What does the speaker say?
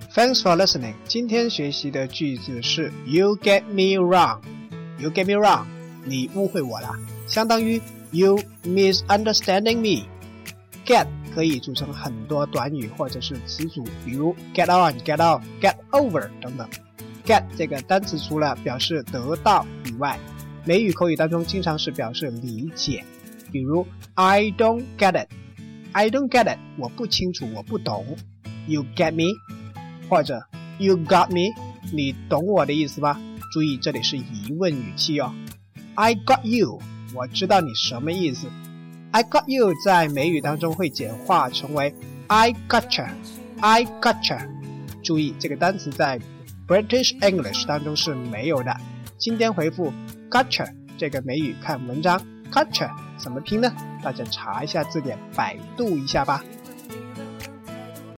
Thanks for listening. 今天学习的句子是 You get me wrong. You get me wrong. 你误会我了，相当于 You misunderstanding me. Get 可以组成很多短语或者是词组，比如 get on, get off, get over 等等。Get 这个单词除了表示得到以外，美语口语当中经常是表示理解，比如 I don't get it. I don't get it. 我不清楚，我不懂。You get me? 或者 You got me? 你懂我的意思吧？注意这里是疑问语气哦。I got you. 我知道你什么意思。I got you 在美语当中会简化成为 I gotcha. I gotcha. 注意这个单词在 British English 当中是没有的。今天回复 gotcha 这个美语看文章 gotcha 怎么拼呢？大家查一下字典，百度一下吧。